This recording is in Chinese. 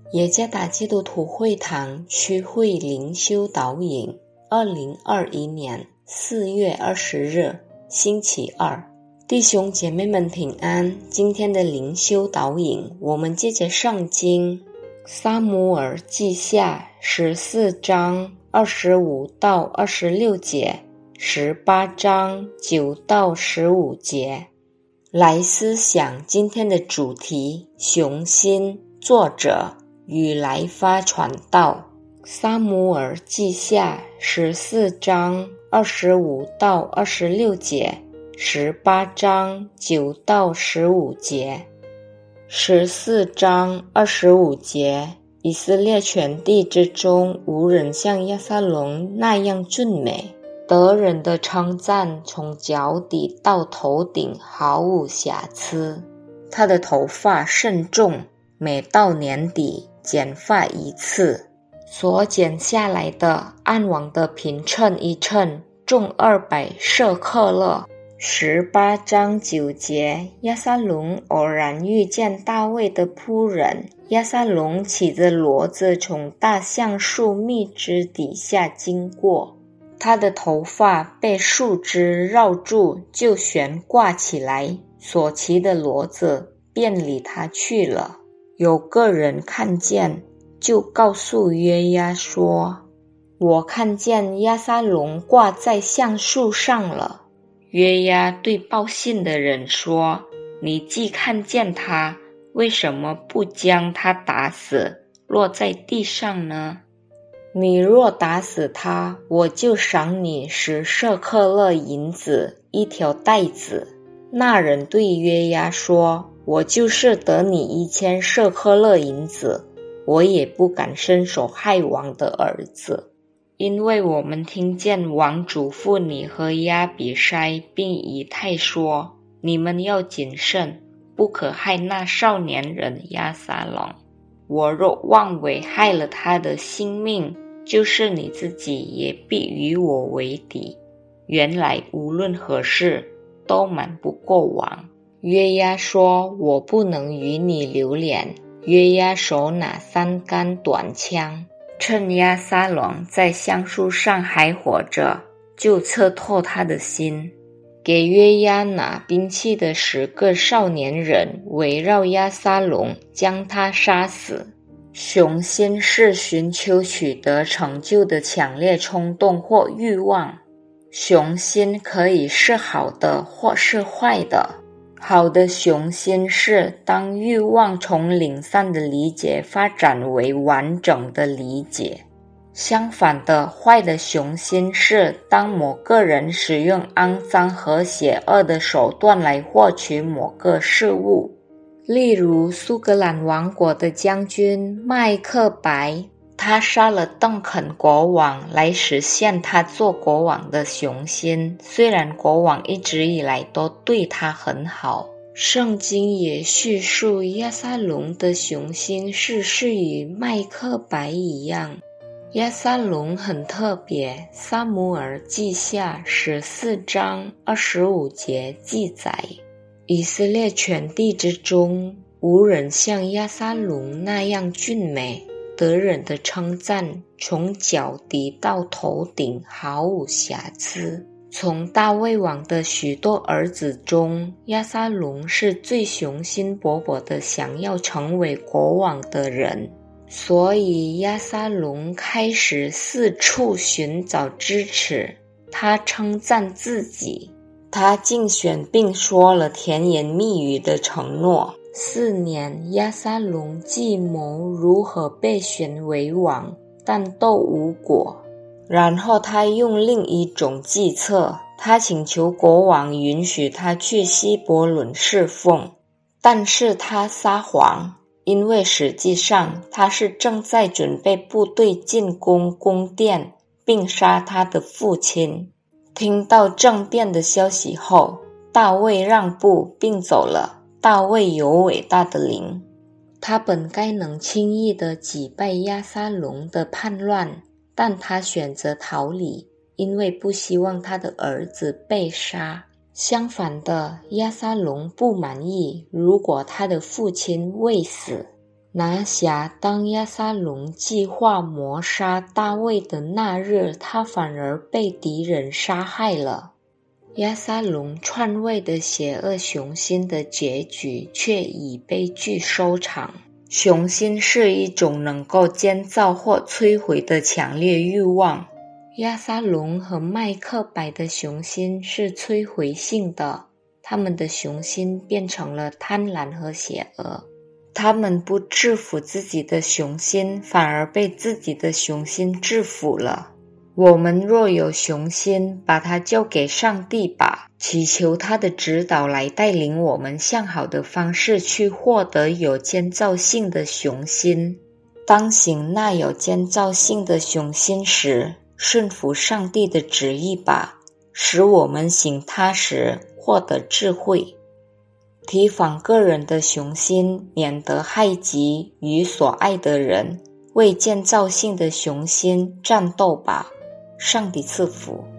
耶加达基督徒会堂区会灵修导引2021年4月20日星期二，弟兄姐妹们平安。今天的灵修导引，我们借着圣经撒母耳记下14章25到26节，18章9到15节来思想今天的主题：雄心。作者与来发传道。撒母耳记下14章25到26节，18章9到15节。14章25节，以色列全地之中，无人像押沙龙那样俊美，得人的称赞从脚底到头顶毫无瑕疵。他的头发甚重，每到年底剪发一次，所剪下来的按王的平称一称，重200舍克勒。18章9节，押沙龙偶然遇见大卫的仆人，押沙龙骑着骡子从大橡树密枝底下经过，他的头发被树枝绕住，就悬挂起来，所骑的骡子便离他去了。有个人看见，就告诉约押说：“我看见押沙龙挂在橡树上了。”约押对报信的人说：“你既看见他，为什么不将他打死，落在地上呢？你若打死他，我就赏你10舍克勒银子1条带子。”那人对约押说：“我就是得你1000舍克勒银子，我也不敢伸手害王的儿子，因为我们听见王嘱咐你和亚比筛并以太说，你们要谨慎，不可害那少年人押沙龙。我若妄为害了他的性命，就是你自己也必与我为敌。原来无论何事都瞒不过王。”约押说：“我不能与你留恋。”约押手拿3杆短枪，趁押沙龙在橡树上还活着，就刺透他的心。给约押拿兵器的10个少年人围绕押沙龙，将他杀死。雄心是寻求取得成就的强烈冲动或欲望。雄心可以是好的或是坏的。好的雄心是当欲望从零散的理解发展为完整的理解。相反的，坏的雄心是当某个人使用肮脏和邪恶的手段来获取某个事物。例如苏格兰王国的将军麦克白，他杀了邓肯国王来实现他做国王的雄心，虽然国王一直以来都对他很好。圣经也叙述押沙龙的雄心是与麦克白一样。押沙龙很特别，撒母耳记下14章25节记载，以色列全地之中，无人像押沙龙那样俊美，得人的称赞从脚底到头顶毫无瑕疵。从大卫王的许多儿子中，押沙龙是最雄心勃勃的想要成为国王的人，所以押沙龙开始四处寻找支持。他称赞自己，他竞选并说了甜言蜜语的承诺。4年，押沙龙计谋如何被选为王，但都无果。然后他用另一种计策，他请求国王允许他去希伯伦侍奉，但是他撒谎，因为实际上他是正在准备部队进攻宫殿，并杀他的父亲。听到政变的消息后，大卫让步并走了。大卫有伟大的灵，他本该能轻易地击败押沙龙的叛乱，但他选择逃离，因为不希望他的儿子被杀。相反的，押沙龙不满意如果他的父亲未死， 拿辖当押沙龙计划谋杀大卫的那日，他反而被敌人杀害了。押沙龙篡位的邪恶雄心的结局却以悲剧收场。雄心是一种能够建造或摧毁的强烈欲望。押沙龙和麦克白的雄心是摧毁性的，他们的雄心变成了贪婪和邪恶。他们不制服自己的雄心，反而被自己的雄心制服了。我们若有雄心，把它交给上帝吧，祈求他的指导来带领我们向好的方式去获得有建造性的雄心。当行那有建造性的雄心时，顺服上帝的旨意吧，使我们行它时获得智慧。提防个人的雄心，免得害己与所爱的人。为建造性的雄心战斗吧。上帝赐福。